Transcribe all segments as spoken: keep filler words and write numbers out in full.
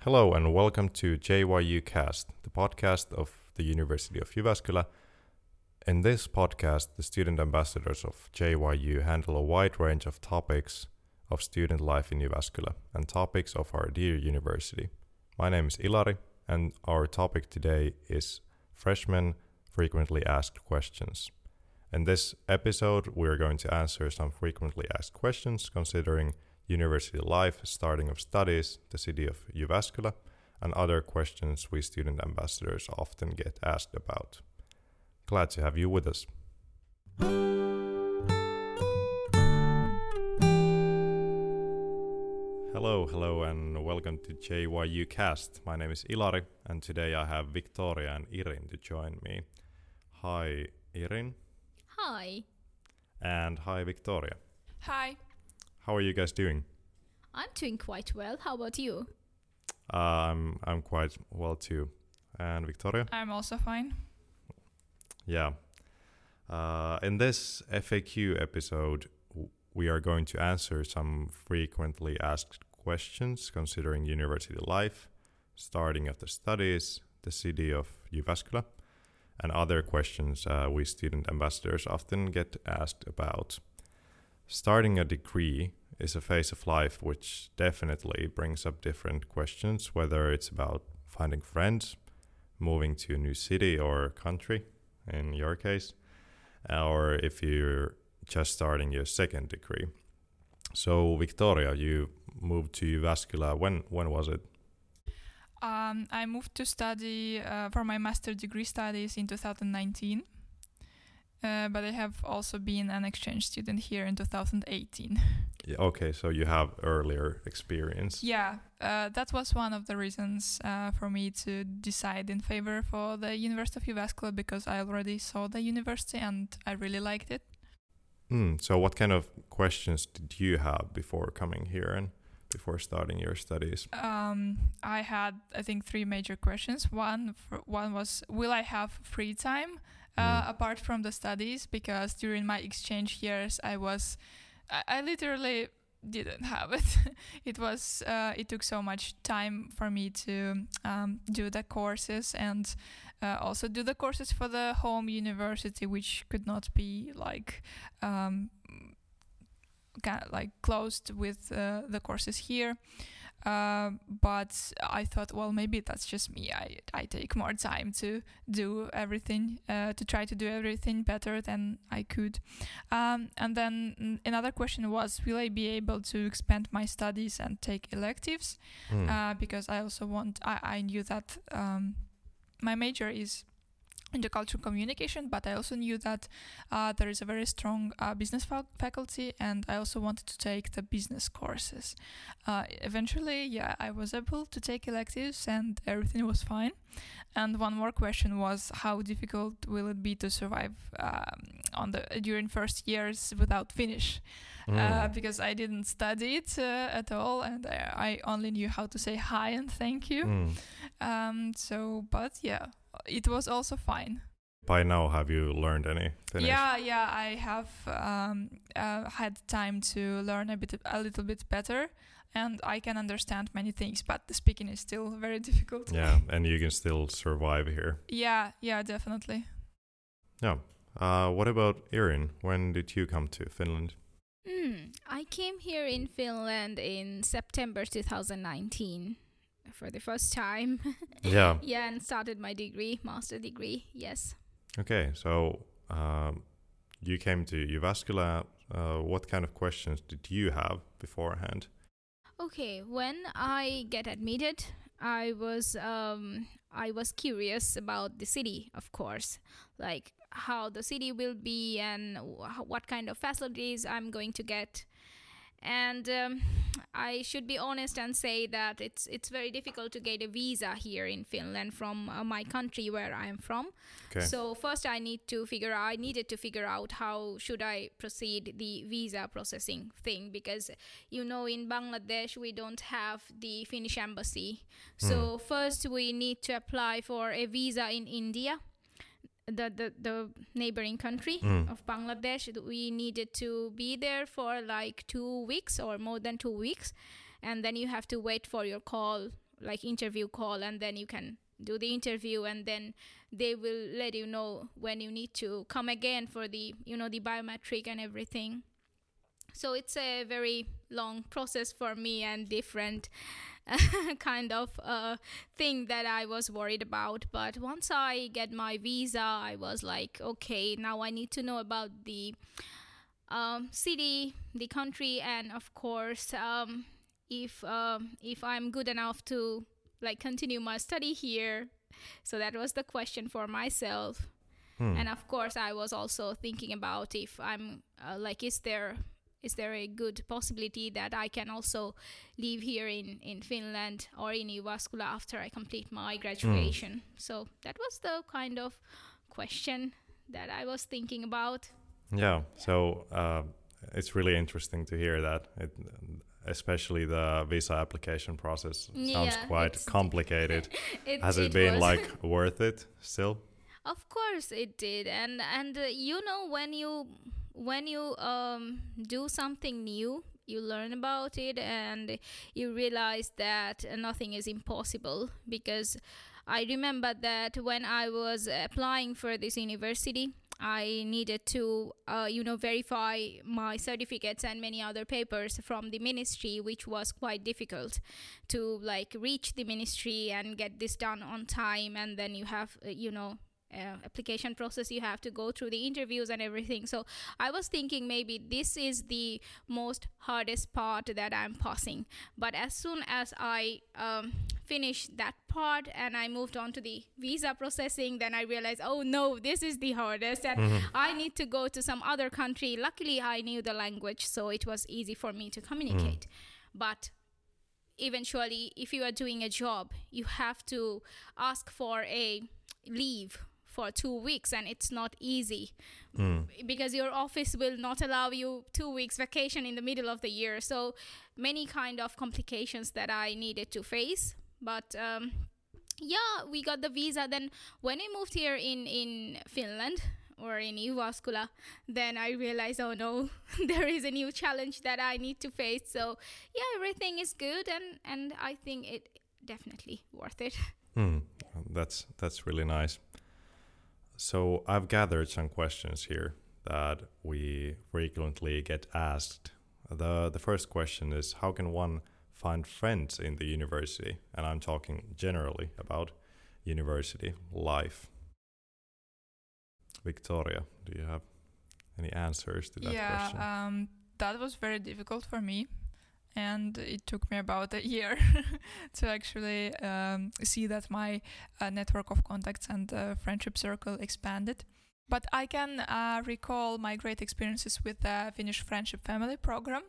Hello and welcome to J Y U Cast, the podcast of the University of Jyväskylä. In this podcast, the student ambassadors of J Y U handle a wide range of topics of student life in Jyväskylä and topics of our dear university. My name is Ilari, and our topic today is Freshman Frequently Asked Questions. In this episode, we are going to answer some frequently asked questions considering university life, starting of studies, the city of Jyväskylä, and other questions we student ambassadors often get asked about. Glad to have you with us. Hello, hello, and welcome to J Y U Cast. My name is Ilari, and today I have Victoria and Irin to join me. Hi, Irin. Hi. And hi, Victoria. Hi. How are you guys doing? I'm doing quite well. How about you? Um, I'm quite well too. And Victoria? I'm also fine. Yeah. Uh, in this F A Q episode, w- we are going to answer some frequently asked questions considering university life, starting of the studies, the city of Jyväskylä, and other questions uh, we student ambassadors often get asked about. Starting a degree is a phase of life which definitely brings up different questions, whether it's about finding friends, moving to a new city or country, in your case, or if you're just starting your second degree. So, Victoria, you moved to Jyväskylä. When when was it? Um, I moved to study uh, for my master degree studies in two thousand nineteen. Uh, but I have also been an exchange student here in two thousand eighteen. Yeah, okay, so you have earlier experience. Yeah, uh, that was one of the reasons uh, for me to decide in favor for the University of Jyväskylä, because I already saw the university and I really liked it. Mm, so what kind of questions did you have before coming here and before starting your studies? Um, I had, I think, three major questions. One, for, one was, will I have free time uh, Mm. apart from the studies? Because during my exchange years, I was, I, I literally didn't have it. It was, uh, it took so much time for me to um, do the courses and uh, also do the courses for the home university, which could not be like. Um, Kind of like closed with uh, the courses here, uh, but I thought, well, maybe that's just me. I I take more time to do everything, uh, to try to do everything better than I could. Um, and then another question was, will I be able to expand my studies and take electives? Mm. Uh, because I also want. I I knew that um, my major is intercultural communication, but I also knew that uh, there is a very strong uh, business fa- faculty, and I also wanted to take the business courses. Uh, eventually, yeah, I was able to take electives, and everything was fine. And one more question was, how difficult will it be to survive um, on the during first years without Finnish? Mm. Uh, because I didn't study it uh, at all, and I, I only knew how to say hi and thank you. Mm. Um, so, but yeah. It was also fine. By now, have you learned any Finnish? Yeah, yeah, I have um, uh, had time to learn a bit, a little bit better, and I can understand many things. But the speaking is still very difficult. Yeah, and you can still survive here. Yeah, yeah, definitely. Yeah. Uh, what about Irin? When did you come to Finland? Mm, I came here in Finland in September two thousand nineteen for the first time. Yeah. Yeah, and started my degree, master degree, yes. Okay, so um, you came to Jyväskylä. Uh, what kind of questions did you have beforehand? Okay, when I get admitted, I was um, I was curious about the city, of course, like how the city will be and wh- what kind of facilities I'm going to get. And um, I should be honest and say that it's it's very difficult to get a visa here in Finland from uh, my country where I'm from. Okay. So first I need to figure I needed to figure out how should I proceed the visa processing thing, because you know in Bangladesh we don't have the Finnish embassy. So Mm. first we need to apply for a visa in India, the the, the neighboring country Mm. of Bangladesh. We needed to be there for like two weeks or more than two weeks, and then you have to wait for your call like interview call, and then you can do the interview, and then they will let you know when you need to come again for the, you know, the biometric and everything. So it's a very long process for me and different kind of uh, thing that I was worried about. But once I get my visa, I was like, okay, now I need to know about the um, city, the country, and of course, um, if um, if I'm good enough to like continue my study here. So that was the question for myself. Hmm. And of course, I was also thinking about if I'm uh, like, is there is there a good possibility that I can also live here in, in Finland or in Jyväskylä after I complete my graduation? Mm. So that was the kind of question that I was thinking about. Yeah, so uh, it's really interesting to hear that, it, especially the visa application process sounds yeah, quite complicated. it, Has it, it been like worth it still? Of course it did. And, and uh, you know, when you... when you um, do something new, you learn about it and you realize that nothing is impossible. Because I remember that when I was applying for this university, I needed to, uh, you know, verify my certificates and many other papers from the ministry, which was quite difficult to like reach the ministry and get this done on time. And then you have, uh, you know, Uh, application process, you have to go through the interviews and everything. So I was thinking maybe this is the most hardest part that I'm passing. But as soon as I um, finished that part and I moved on to the visa processing, then I realized, oh no, this is the hardest, and mm-hmm. I need to go to some other country. Luckily, I knew the language, so it was easy for me to communicate. Mm. But eventually, if you are doing a job, you have to ask for a leave for two weeks, and it's not easy mm. because your office will not allow you two weeks vacation in the middle of the year. So many kind of complications that I needed to face. But um, yeah, we got the visa. Then when we moved here in, in Finland or in Jyväskylä, then I realized, oh no, there is a new challenge that I need to face. So yeah, everything is good, and, and I think it definitely worth it. Mm. That's that's really nice. So I've gathered some questions here that we frequently get asked. The the first question is, how can one find friends in the university? And I'm talking generally about university life. Victoria, do you have any answers to that yeah, question? Yeah, um, that was very difficult for me. And it took me about a year to actually um, see that my uh, network of contacts and uh, friendship circle expanded. But I can uh, recall my great experiences with the Finnish Friendship Family program,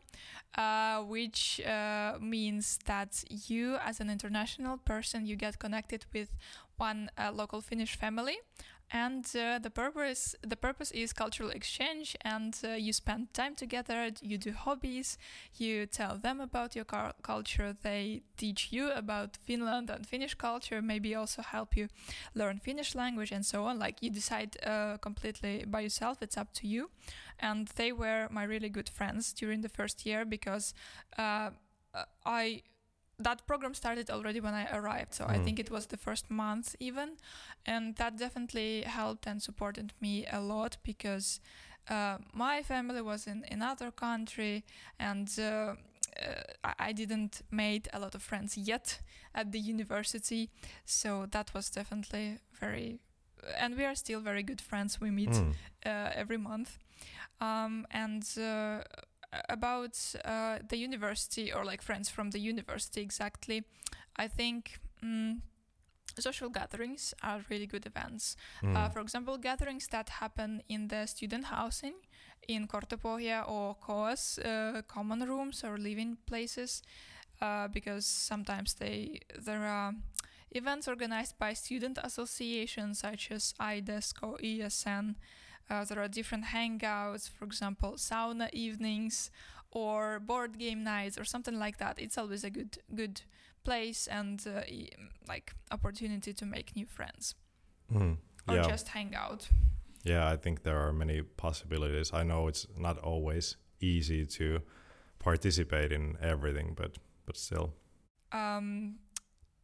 uh, which uh, means that you, as an international person, you get connected with one uh, local Finnish family. And uh, the purpose the purpose is cultural exchange, and uh, you spend time together, you do hobbies, you tell them about your car- culture, they teach you about Finland and Finnish culture, maybe also help you learn Finnish language and so on. Like, you decide uh, completely by yourself, it's up to you. And they were my really good friends during the first year, because uh, I... that program started already when I arrived, so mm. I think it was the first month even, and that definitely helped and supported me a lot, because uh, my family was in another country, and uh, uh, I didn't made a lot of friends yet at the university, so that was definitely very, and we are still very good friends. We meet mm. uh, every month, um, and uh, about uh, the university, or like friends from the university exactly, I think um, social gatherings are really good events. Mm. Uh, for example, gatherings that happen in the student housing in Kortepohja or K O S, uh, common rooms or living places, uh, because sometimes they there are events organized by student associations such as I D E S C or E S N. Uh, there are different hangouts, for example, sauna evenings or board game nights or something like that. It's always a good good place and uh, e- like opportunity to make new friends mm, or yeah. just hang out. Yeah, I think there are many possibilities. I know it's not always easy to participate in everything, but but still. Um,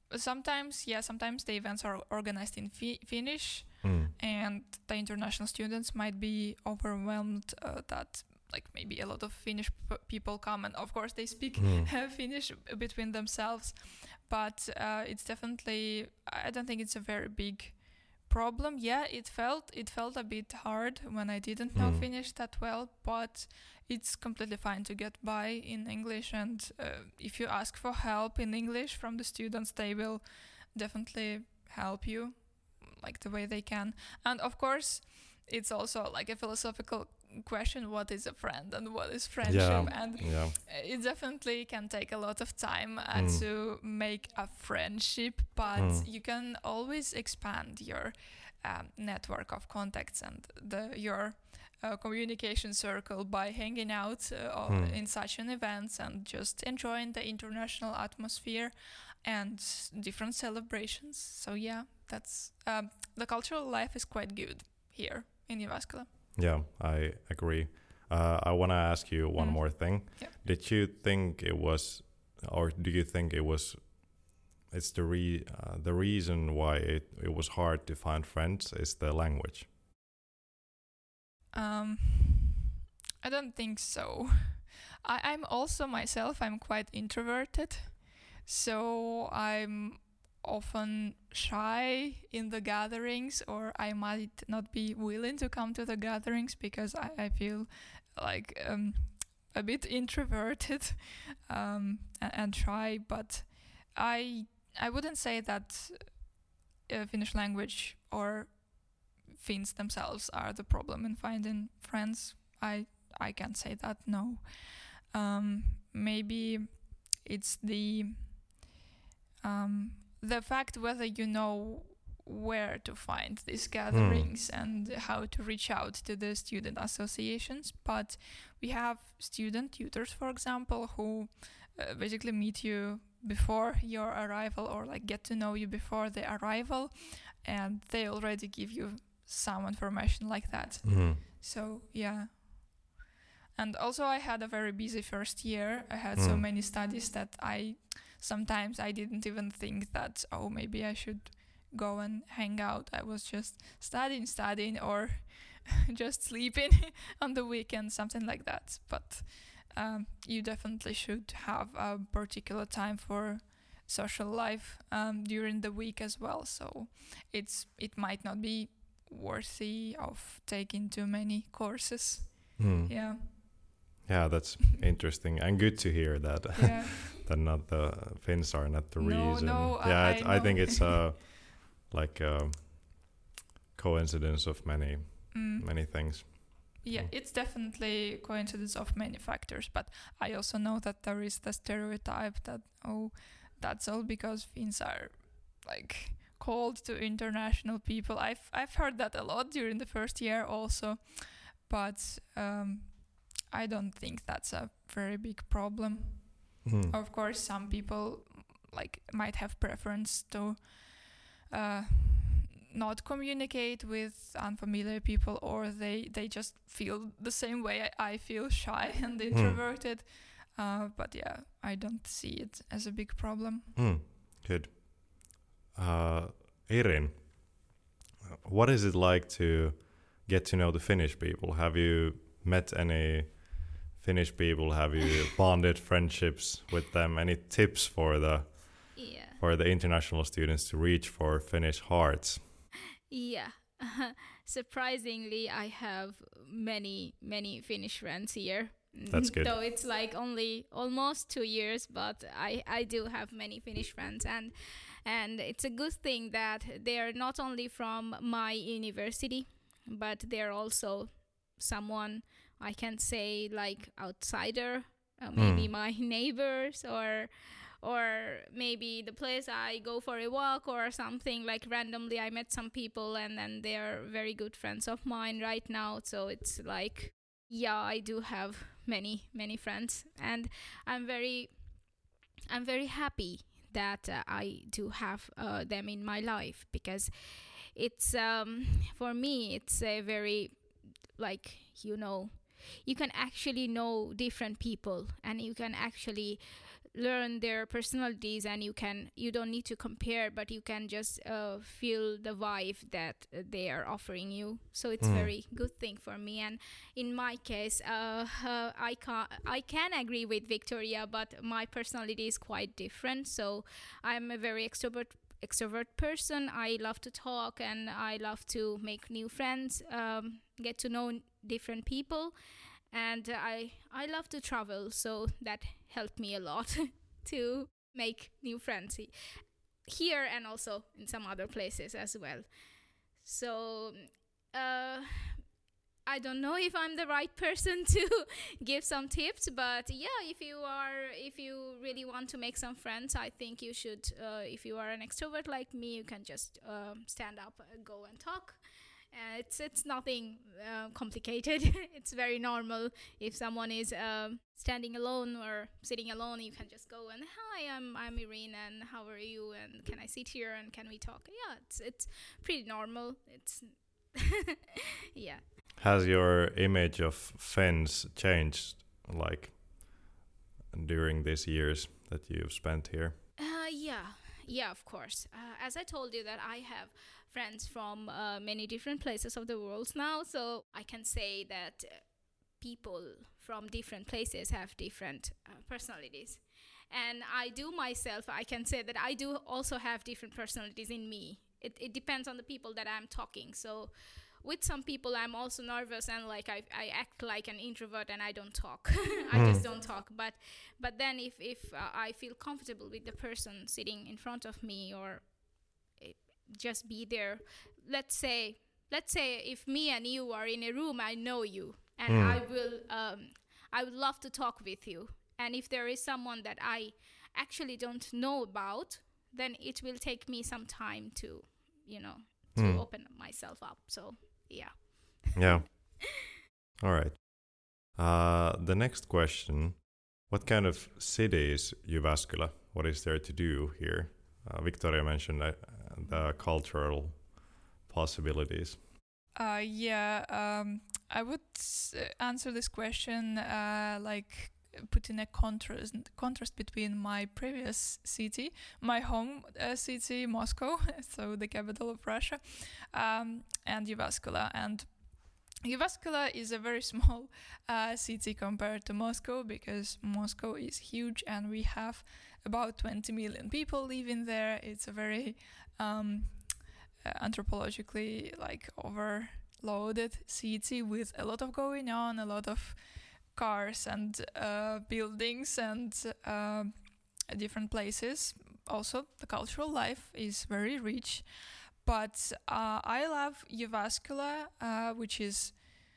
sometimes, yeah, sometimes the events are organized in fi- Finnish, Mm. and the international students might be overwhelmed uh, that like maybe a lot of Finnish p- people come, and of course they speak Mm. Finnish between themselves. But uh, it's definitely, I don't think it's a very big problem. Yeah, it felt it felt a bit hard when I didn't know Mm. Finnish that well, but it's completely fine to get by in English. And uh, if you ask for help in English from the students, they will definitely help you like the way they can. And of course, it's also like a philosophical question: what is a friend and what is friendship? Yeah. And Yeah. it definitely can take a lot of time uh, Mm. to make a friendship, but Mm. you can always expand your um, network of contacts and the your uh, communication circle by hanging out uh, or Mm. in such an events and just enjoying the international atmosphere and s- different celebrations. So yeah, that's um, the cultural life is quite good here in Jyväskylä. Yeah, I agree. Uh, I want to ask you one Mm. more thing. Yeah. Did you think it was, or do you think it was, it's the re uh, the reason why it, it was hard to find friends is the language? Um, I don't think so. I, I'm also myself, I'm quite introverted. So I'm often shy in the gatherings, or I might not be willing to come to the gatherings because I, I feel like um, a bit introverted um, and, and shy. But I I wouldn't say that uh, Finnish language or Finns themselves are the problem in finding friends. I I can't say that, no. Um, maybe it's the um, the fact whether you know where to find these gatherings and how to reach out to the student associations. But we have student tutors, for example, who uh, basically meet you before your arrival, or like get to know you before the arrival, and they already give you some information like that. Mm. So yeah. And also I had a very busy first year. I had so Mm. many studies that I sometimes I didn't even think that, oh, maybe I should go and hang out. I was just studying, studying, or just sleeping on the weekend, something like that. But um, you definitely should have a particular time for social life um, during the week as well. So it's it might not be worthy of taking too many courses. Mm. Yeah. Yeah, that's interesting and good to hear that. Yeah. That not the Finns are not the No, reason. no, I- yeah, I it, I, think know. it's a like a coincidence of many Mm. many things. Yeah, Mm. it's definitely coincidence of many factors, but I also know that there is the stereotype that, oh, that's all because Finns are like cold to international people. I've I've heard that a lot during the first year also, but um, I don't think that's a very big problem. Mm. Of course, some people like might have preference to uh, not communicate with unfamiliar people, or they they just feel the same way I, I feel, shy and introverted. Uh, but yeah, I don't see it as a big problem. Mm. Good. Uh, Irin, what is it like to get to know the Finnish people? Have you met any Finnish people? Have you bonded friendships with them? Any tips for the Yeah. for the international students to reach for Finnish hearts? Yeah. Surprisingly, I have many, many Finnish friends here. That's good. Though it's like only almost two years, but I, I do have many Finnish friends, and and it's a good thing that they are not only from my university, but they're also someone I can say like outsider, uh, maybe Mm. my neighbors, or or maybe the place I go for a walk or something. Like randomly I met some people, and then they're very good friends of mine right now. So it's like, yeah, I do have many many friends, and I'm very I'm very happy that uh, I do have uh, them in my life, because it's um for me it's a very, like, you know, you can actually know different people, and you can actually learn their personalities, and you can you don't need to compare, but you can just uh, feel the vibe that uh, they are offering you. So it's Mm. very good thing for me. And in my case, uh, uh, I can I can agree with Victoria, but my personality is quite different. So I'm a very extrovert extrovert person. I love to talk, and I love to make new friends, um, get to know different people, and I I love to travel, so that helped me a lot to make new friends he- here and also in some other places as well. So uh, I don't know if I'm the right person to give some tips, but yeah, if you are, if you really want to make some friends, I think you should. Uh, if you are an extrovert like me, you can just um, stand up, uh, go and talk. Uh, it's it's nothing uh, complicated. It's very normal. If someone is um, standing alone or sitting alone, you can just go and hi, I'm I'm Irene, and how are you? And can I sit here and can we talk? Yeah, it's it's pretty normal. It's yeah. Has your image of Fens changed, like, during these years that you've spent here? Uh, yeah, yeah, of course. Uh, as I told you, that I have friends from uh, many different places of the world now, so I can say that uh, people from different places have different uh, personalities. And I do myself, I can say that I do also have different personalities in me. It, it depends on the people that I'm talking. So with some people I'm also nervous, and like I, I act like an introvert and I don't talk. I just don't talk. But but then if, if uh, I feel comfortable with the person sitting in front of me, or uh, just be there, let's say let's say if me and you are in a room, I know you, and Mm. I will um, I would love to talk with you. And if there is someone that I actually don't know about, then it will take me some time to, you know, to Mm. open myself up. So yeah. Yeah. All right. Uh, the next question: what kind of city is Jyväskylä? What is there to do here? Uh, Victoria mentioned uh, the cultural possibilities. Uh, yeah, um, I would s- answer this question uh, like putting a contrast contrast between my previous city, my home uh, city, Moscow, so the capital of Russia, um, and Jyväskylä. And Jyväskylä is a very small uh, city compared to Moscow, because Moscow is huge and we have about twenty million people living there. It's a very um, uh, anthropologically like overloaded city with a lot of going on, a lot of cars and uh, buildings and uh, different places. Also, the cultural life is very rich. But uh, I love Jyväskylä, uh, which is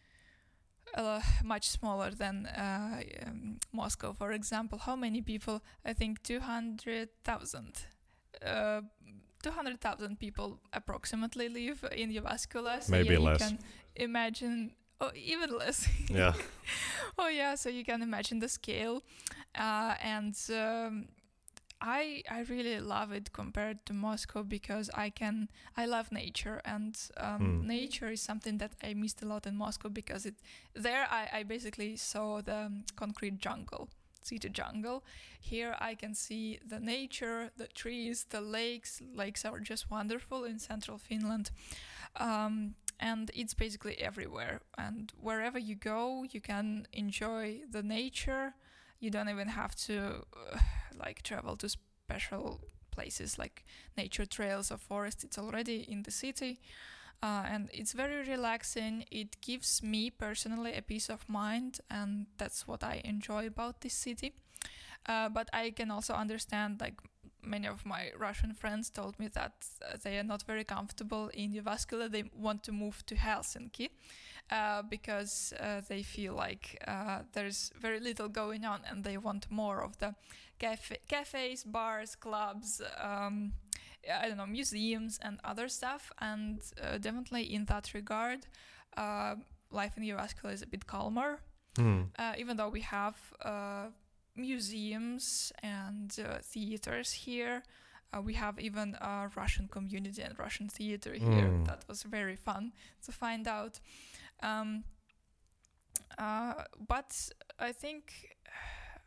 uh, much smaller than uh, um, Moscow, for example. How many people? I think two hundred thousand. Uh, two hundred thousand people approximately live in Jyväskylä. So Maybe yeah, less. You can imagine, oh, even less. Yeah. Oh yeah, so you can imagine the scale, uh, and um, I I really love it compared to Moscow, because I can I love nature, and um, Mm. nature is something that I missed a lot in Moscow, because it there I, I basically saw the um, concrete jungle, city jungle. Here I can see the nature, the trees, the lakes. Lakes are just wonderful in central Finland. Um, and it's basically everywhere, and wherever you go you can enjoy the nature. You don't even have to uh, like travel to special places like nature trails or forests. It's already in the city, uh, and it's very relaxing. It gives me personally a peace of mind, and that's what I enjoy about this city. Uh, but I can also understand, like, many of my Russian friends told me that uh, they are not very comfortable in Jyväskylä. They want to move to Helsinki uh, because uh, they feel like uh, there's very little going on, and they want more of the cafe- cafes, bars, clubs, um, I don't know, museums and other stuff. And uh, definitely in that regard, uh, life in Jyväskylä is a bit calmer, Mm. uh, even though we have uh, museums and uh, theaters here. Uh, we have even a Russian community and Russian theater here. Mm. That was very fun to find out. Um, uh, but I think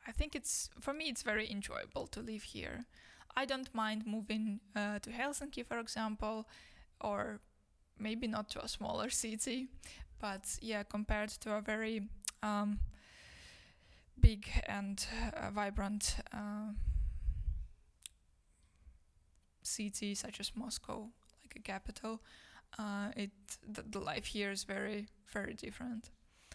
I think it's, for me, it's very enjoyable to live here. I don't mind moving uh, to Helsinki, for example, or maybe not to a smaller city, but yeah, compared to a very um, big and uh, vibrant uh, city such as Moscow, like a capital, uh, it the, the life here is very, very different.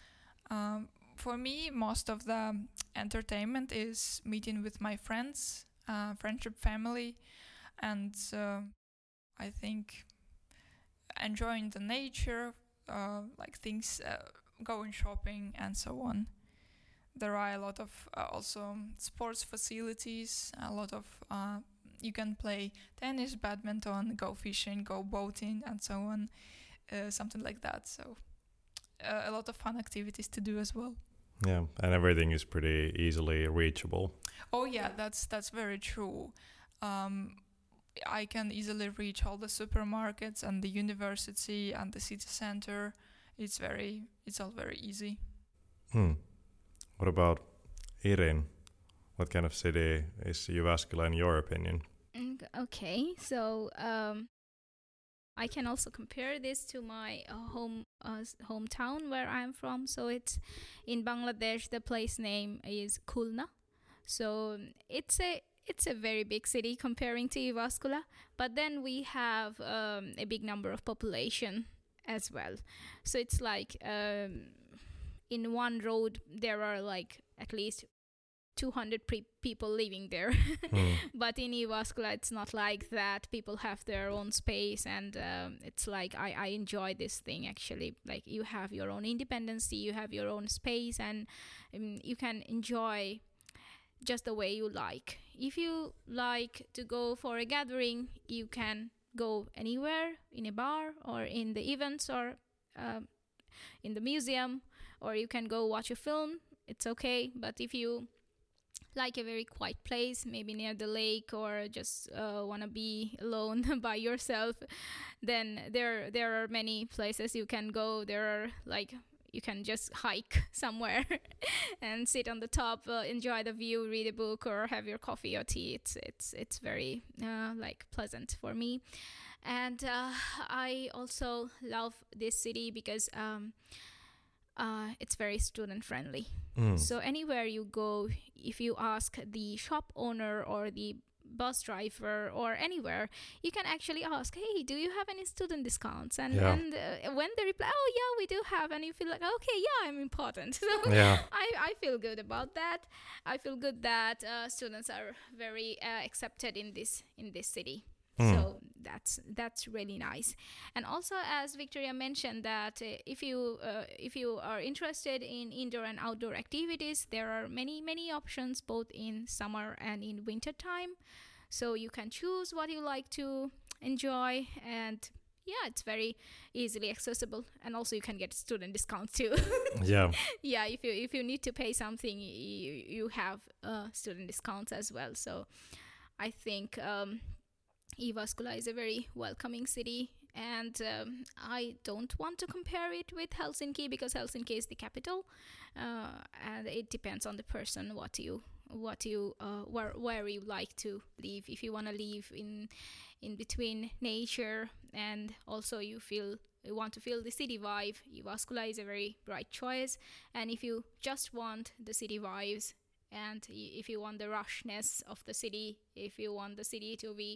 Um, for me, most of the entertainment is meeting with my friends, uh, friendship, family, and uh, I think enjoying the nature, uh, like things, uh, going shopping and so on. There are a lot of uh, also sports facilities, a lot of uh, you can play tennis, badminton, go fishing, go boating, and so on, uh, something like that. So uh, a lot of fun activities to do as well. Yeah, and everything is pretty easily reachable. Oh yeah, that's that's very true. Um, I can easily reach all the supermarkets and the university and the city center. It's very, it's all very easy. Hmm. What about Irin? What kind of city is Jyväskylä in your opinion? Mm, Okay, so um, I can also compare this to my uh, home uh, s- hometown where I'm from. So it's in Bangladesh. The place name is Khulna. So um, it's a it's a very big city comparing to Jyväskylä. But then we have um, a big number of population as well. So it's like um, in one road there are like at least two hundred pre- people living there. Hmm. But in Jyväskylä, it's not like that. People have their own space, and um, it's like I, I enjoy this thing actually. Like you have your own independence, you have your own space, and um, you can enjoy just the way you like. If you like to go for a gathering, you can go anywhere in a bar or in the events or um in the museum, or you can go watch a film. It's okay. But if you like a very quiet place, maybe near the lake, or just uh, want to be alone by yourself, then there there are many places you can go. There are like you can just hike somewhere and sit on the top, uh, enjoy the view, read a book, or have your coffee or tea. It's it's it's very uh, like pleasant for me, and uh, I also love this city because um, uh, it's very student friendly. Hmm. So anywhere you go, if you ask the shop owner or the bus driver or anywhere, you can actually ask, hey, do you have any student discounts? And, Yeah. and uh, when they reply, oh yeah, we do have, and you feel like, okay, yeah, I'm important. So Yeah. I, I feel good about that. I feel good that uh, students are very uh, accepted in this in this city. Mm. So that's that's really nice. And also, as Victoria mentioned, that uh, if you uh, if you are interested in indoor and outdoor activities, there are many many options both in summer and in winter time. So you can choose what you like to enjoy, and yeah, it's very easily accessible. And also, you can get student discounts too. Yeah. Yeah, if you if you need to pay something, you you have uh, student discounts as well. So I think. Um, Jyväskylä is a very welcoming city, and um, I don't want to compare it with Helsinki because Helsinki is the capital, uh, and it depends on the person what you what you uh, where where you like to live. If you want to live in in between nature, and also you feel you want to feel the city vibe, Jyväskylä is a very bright choice. And if you just want the city vibes, and y- if you want the rushness of the city, if you want the city to be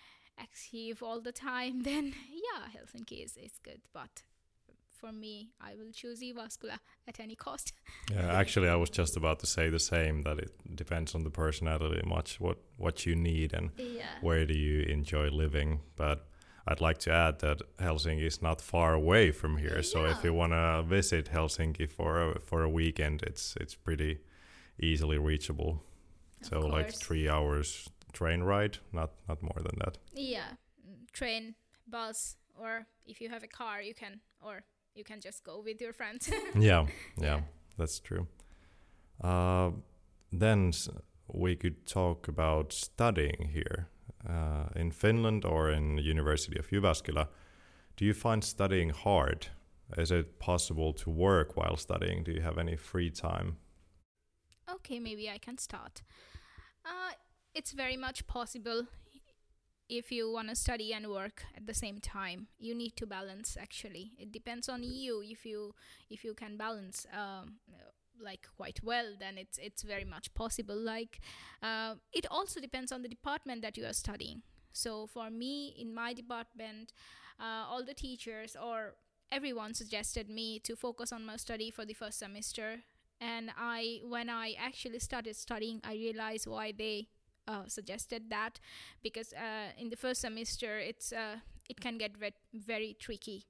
active all the time, then yeah, Helsinki is, is good. But for me, I will choose Jyväskylä at any cost. Yeah, actually, I was just about to say the same. That it depends on the personality much what what you need and Yeah. where do you enjoy living. But I'd like to add that Helsinki is not far away from here. So if Yeah. you want to visit Helsinki for a, for a weekend, it's it's pretty easily reachable. Of So like course. three hours train ride, not not more than that. Yeah, mm, train, bus, or if you have a car, you can, or you can just go with your friends. Yeah, yeah, Yeah. that's true. Uh, then s- we could talk about studying here uh, in Finland or in University of Jyväskylä. Do you find studying hard? Is it possible to work while studying? Do you have any free time? okay, maybe I can start. Uh, it's very much possible if you want to study and work at the same time. You need to balance. Actually, it depends on you. If you if you can balance. Um, like quite well, then it's it's very much possible. Like uh, it also depends on the department that you are studying. So for me, in my department, uh, all the teachers or everyone suggested me to focus on my study for the first semester. And I, when I actually started studying, I realized why they uh, suggested that, because uh, in the first semester, it's uh, it can get ve- very tricky.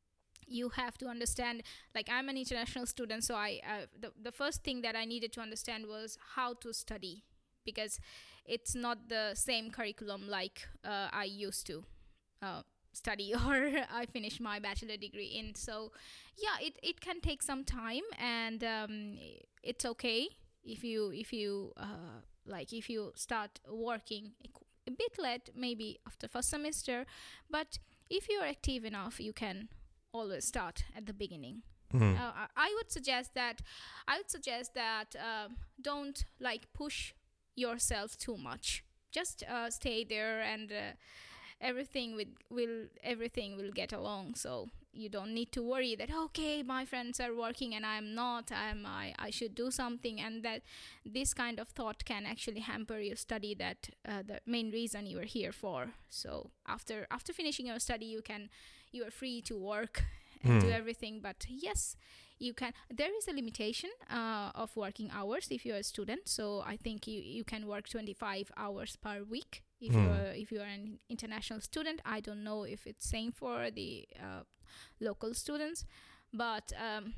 You have to understand, like I'm an international student, so I uh, the, the first thing that I needed to understand was how to study, because it's not the same curriculum like uh, I used to uh, study or I finished my bachelor degree in. So yeah, it, it can take some time, and um, it's okay if you if you uh, like if you start working a bit late, maybe after first semester, but if you're active enough, you can always start at the beginning. Mhm. Uh, I would suggest that I would suggest that uh, don't like push yourself too much. Just uh, stay there, and uh, everything will will everything will get along. So you don't need to worry that okay, my friends are working and I'm not. I'm I I should do something, and that this kind of thought can actually hamper your study. That uh, the main reason you are here for. So after after finishing your study, you can you are free to work and do Mm. everything. But yes, you can. There is a limitation uh, of working hours if you're a student. So I think you, you can work twenty-five hours per week if Mm. you're if you're an international student. I don't know if it's same for the uh, local students, but um,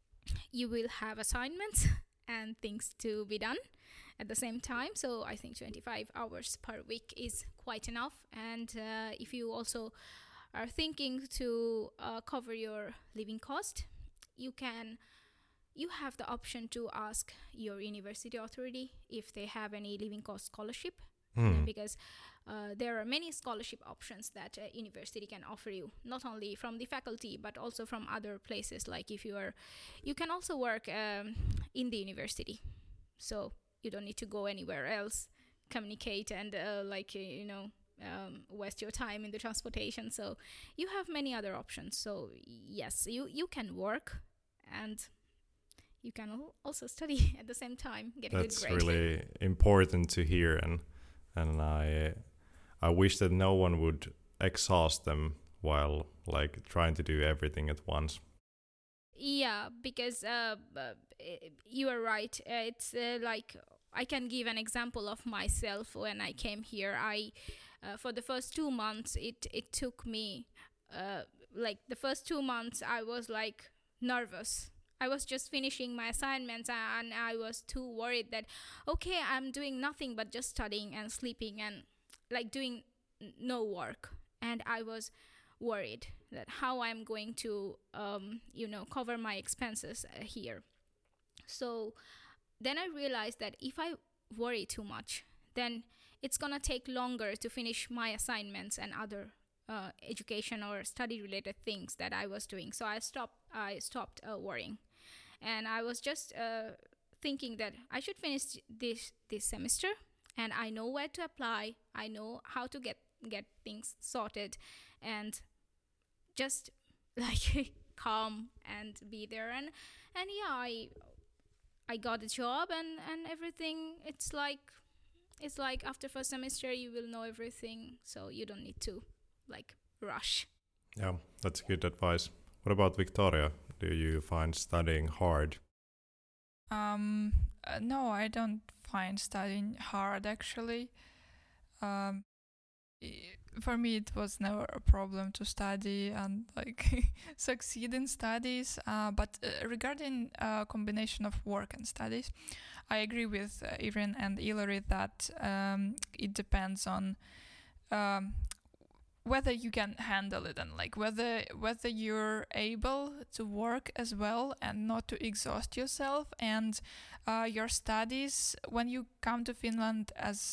you will have assignments and things to be done at the same time. So I think twenty-five hours per week is quite enough. And uh, if you also are thinking to uh, cover your living cost, you can you have the option to ask your university authority if they have any living cost scholarship. Mm. Because uh, there are many scholarship options that a university can offer you, not only from the faculty but also from other places. Like if you are you can also work um, in the university, so you don't need to go anywhere else, communicate, and uh, like uh, you know um, waste your time in the transportation. So you have many other options. So yes, you you can work, and you can al- also study at the same time, get a good That's grade. really important to hear, and and I I wish that no one would exhaust them while like trying to do everything at once. Yeah, because uh, uh, i- you are right. Uh, it's uh, like I can give an example of myself when I came here. I, uh, for the first two months, it it took me, uh, like the first two months, I was like nervous. I was just finishing my assignments, and I was too worried that, okay, I'm doing nothing but just studying and sleeping and like doing n- no work, and I was worried that how I'm going to, um, you know, cover my expenses uh, here. So then I realized that if I worry too much, then it's gonna take longer to finish my assignments and other uh, education or study related things that I was doing. So I stopped. I stopped uh, worrying, and I was just uh, thinking that I should finish this this semester, and I know where to apply. I know how to get get things sorted, and just like calm and be there. and and yeah, i i got a job, and and everything. It's like it's like after first semester you will know everything, so you don't need to like rush. Yeah, that's good advice. What about Victoria? Do you find studying hard? Um, uh, no, I don't find studying hard actually. Um, i- for me, it was never a problem to study and like succeed in studies. Uh, but uh, regarding uh, combination of work and studies, I agree with uh, Irene and Hilary that um, it depends on um, whether you can handle it, and like whether whether you're able to work as well and not to exhaust yourself, and uh, your studies when you come to Finland as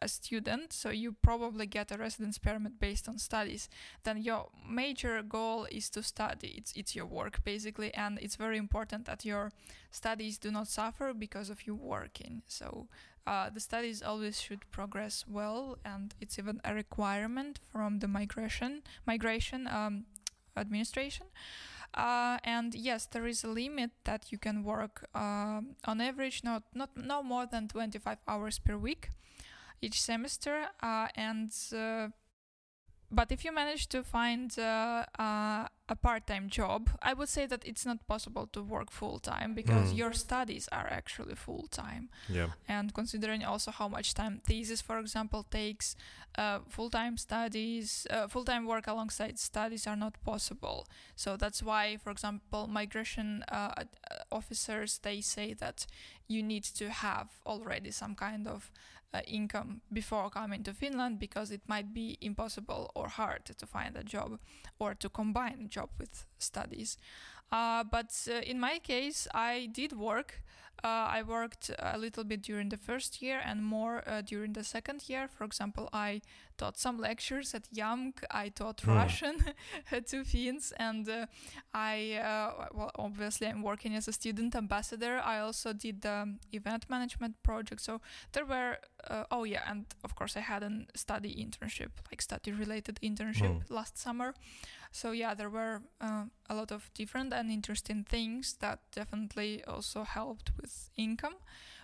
a student, so you probably get a residence permit based on studies, then your major goal is to study. It's it's your work basically, and it's very important that your studies do not suffer because of you working. So uh, the studies always should progress well, and it's even a requirement from the migration migration um, administration. Uh, and yes, there is a limit that you can work um, on average, not not no more than twenty-five hours per week each semester. Uh, and uh, but if you manage to find uh, uh, a part-time job, I would say that it's not possible to work full-time because Mm. your studies are actually full-time. Yeah. And considering also how much time thesis, for example, takes, uh, full-time studies, uh, full-time work alongside studies are not possible. So that's why, for example, migration uh, ad- uh, officers, they say that you need to have already some kind of uh, income before coming to Finland, because it might be impossible or hard to find a job or to combine a job with studies. Uh, but uh, in my case, I did work. Uh, I worked a little bit during the first year and more uh, during the second year. For example, I taught some lectures at Y A M K. I taught Hmm. Russian to Finns, and uh, I, uh, well, obviously I'm working as a student ambassador. I also did the um, event management project. So there were, uh, oh yeah, and of course I had a study internship, like study-related internship Hmm. last summer. So yeah, there were uh, a lot of different and interesting things that definitely also helped with income,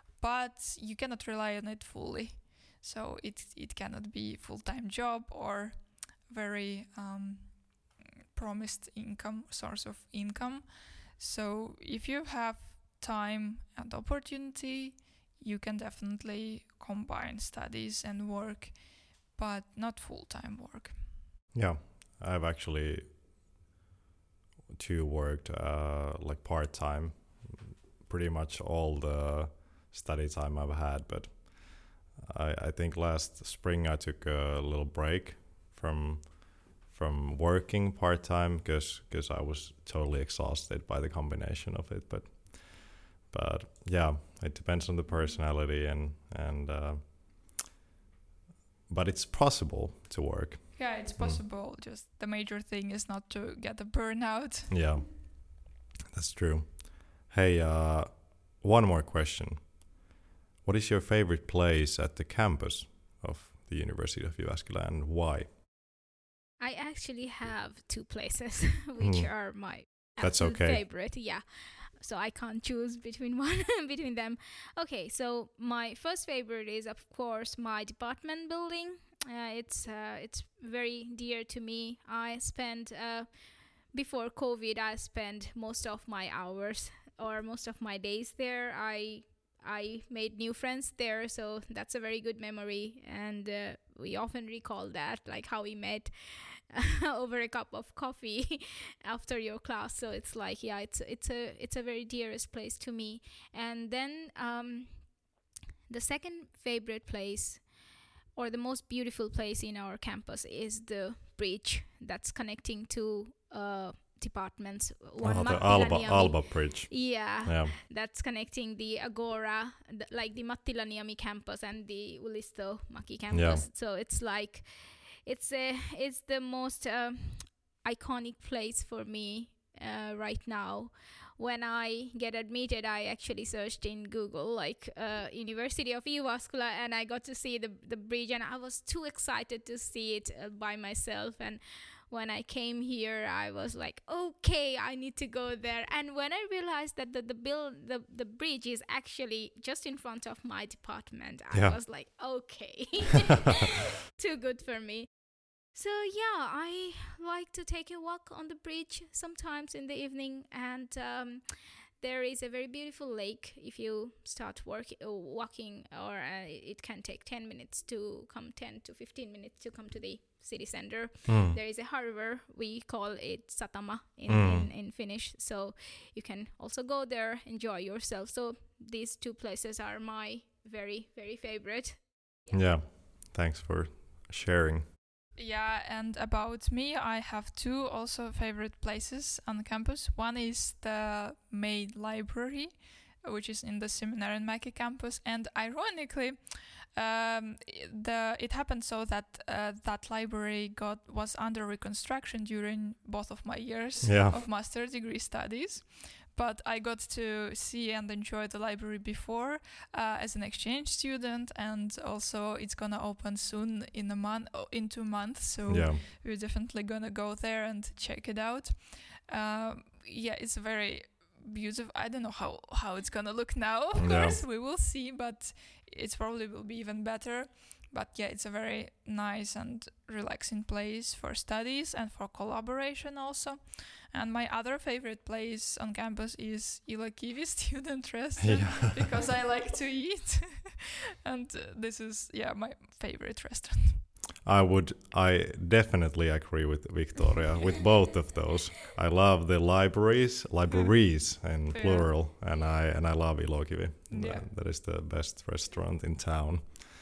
but you cannot rely on it fully. So it it cannot be full-time job or very um, promised income source of income. So if you have time and opportunity, you can definitely combine studies and work, but not full-time work. Yeah. I've actually too worked uh, like part time, pretty much all the study time I've had. But I, I think last spring I took a little break from from working part time because because I was totally exhausted by the combination of it. But but yeah, it depends on the personality and and. Uh, but it's possible to work. Yeah, it's possible. Mm. Just the major thing is not to get a burnout. Yeah, that's true. Hey, uh, one more question. What is your favorite place at the campus of the University of Jyväskylä and why? I actually have two places which Mm. are my That's absolute okay. favorite. Yeah. So I can't choose between one between them. Okay, so my first favorite is of course my department building. Uh, it's uh, it's very dear to me. I spent uh, before COVID. I spent most of my hours or most of my days there. I I made new friends there, so that's a very good memory, and uh, we often recall that, like how we met over a cup of coffee after your class. So it's like, yeah, it's it's a it's a very dearest place to me. And then um, the second favorite place, or the most beautiful place in our campus, is the bridge that's connecting two uh, departments. One Oh, the Matti Alba Laniemi- Alba Bridge. Yeah, Yeah. that's connecting the Agora, th- like the Matti Laniemi campus and the Ulisto Maki campus. Yeah. So it's like, it's a, it's the most uh, iconic place for me uh, right now. When I get admitted, I actually searched in Google like uh, University of Jyväskylä, and I got to see the the bridge, and I was too excited to see it uh, by myself. And when I came here, I was like, okay, I need to go there. And when I realized that the the bill the, the bridge is actually just in front of my department, I Yeah. was like, okay, too good for me. So yeah, I like to take a walk on the bridge sometimes in the evening, and um, there is a very beautiful lake. If you start work, uh, walking, or uh, it can take ten minutes to come, ten to fifteen minutes to come to the city center. Mm. There is a harbor, we call it Satama in, Mm. in, in Finnish, so you can also go there, enjoy yourself. So these two places are my very, very favorite. Yeah. Thanks for sharing. Yeah, and about me, I have two also favorite places on campus. One is the main library, which is in the Seminarian Mäki campus, and ironically, um, the it happened so that uh, that library got was under reconstruction during both of my years Yeah. of master's degree studies. But I got to see and enjoy the library before uh, as an exchange student, and also it's gonna open soon in a month, oh, in two months. So Yeah. we're definitely gonna go there and check it out. Um, yeah, it's very beautiful. I don't know how, how it's gonna look now. Of Yeah. course, we will see, but it probably will be even better. But yeah, it's a very nice and relaxing place for studies and for collaboration also. And my other favorite place on campus is Ilakivi Student Restaurant Yeah. because I like to eat. And uh, this is, yeah, my favorite restaurant. I would, I definitely agree with Victoria with both of those. I love the libraries, libraries in Yeah. plural, and I and I love Ilokivi. Yeah. That- that is the best restaurant in town.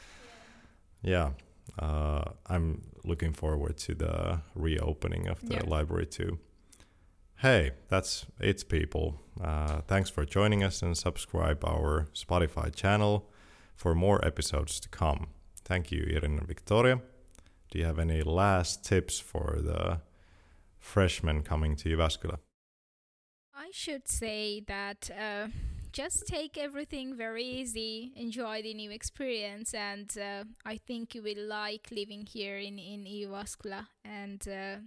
Yeah, uh, I'm looking forward to the reopening of the Yeah. library too. Hey, that's it, people. Uh, thanks for joining us, and subscribe our Spotify channel for more episodes to come. Thank you, Irina and Victoria. Do you have any last tips for the freshmen coming to Jyväskylä? I should say that uh, just take everything very easy, enjoy the new experience, and uh, I think you will like living here in in Jyväskylä. And uh,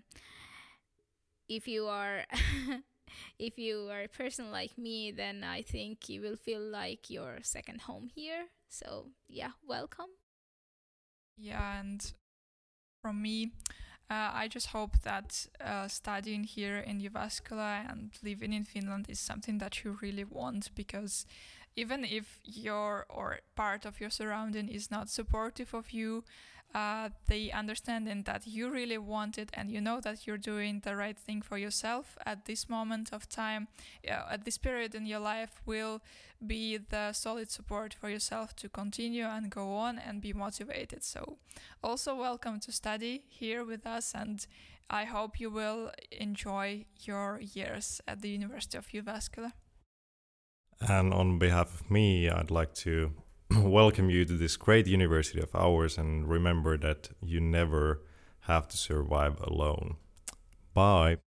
if you are if you are a person like me, then I think you will feel like your second home here. So yeah, welcome. Yeah, and from me, uh, I just hope that uh, studying here in Jyväskylä and living in Finland is something that you really want, because even if your or part of your surrounding is not supportive of you, uh, the understanding that you really want it and you know that you're doing the right thing for yourself at this moment of time, uh, at this period in your life, will be the solid support for yourself to continue and go on and be motivated. So also welcome to study here with us, and I hope you will enjoy your years at the University of Jyväskylä. And on behalf of me, I'd like to welcome you to this great university of ours, and remember that you never have to survive alone. Bye.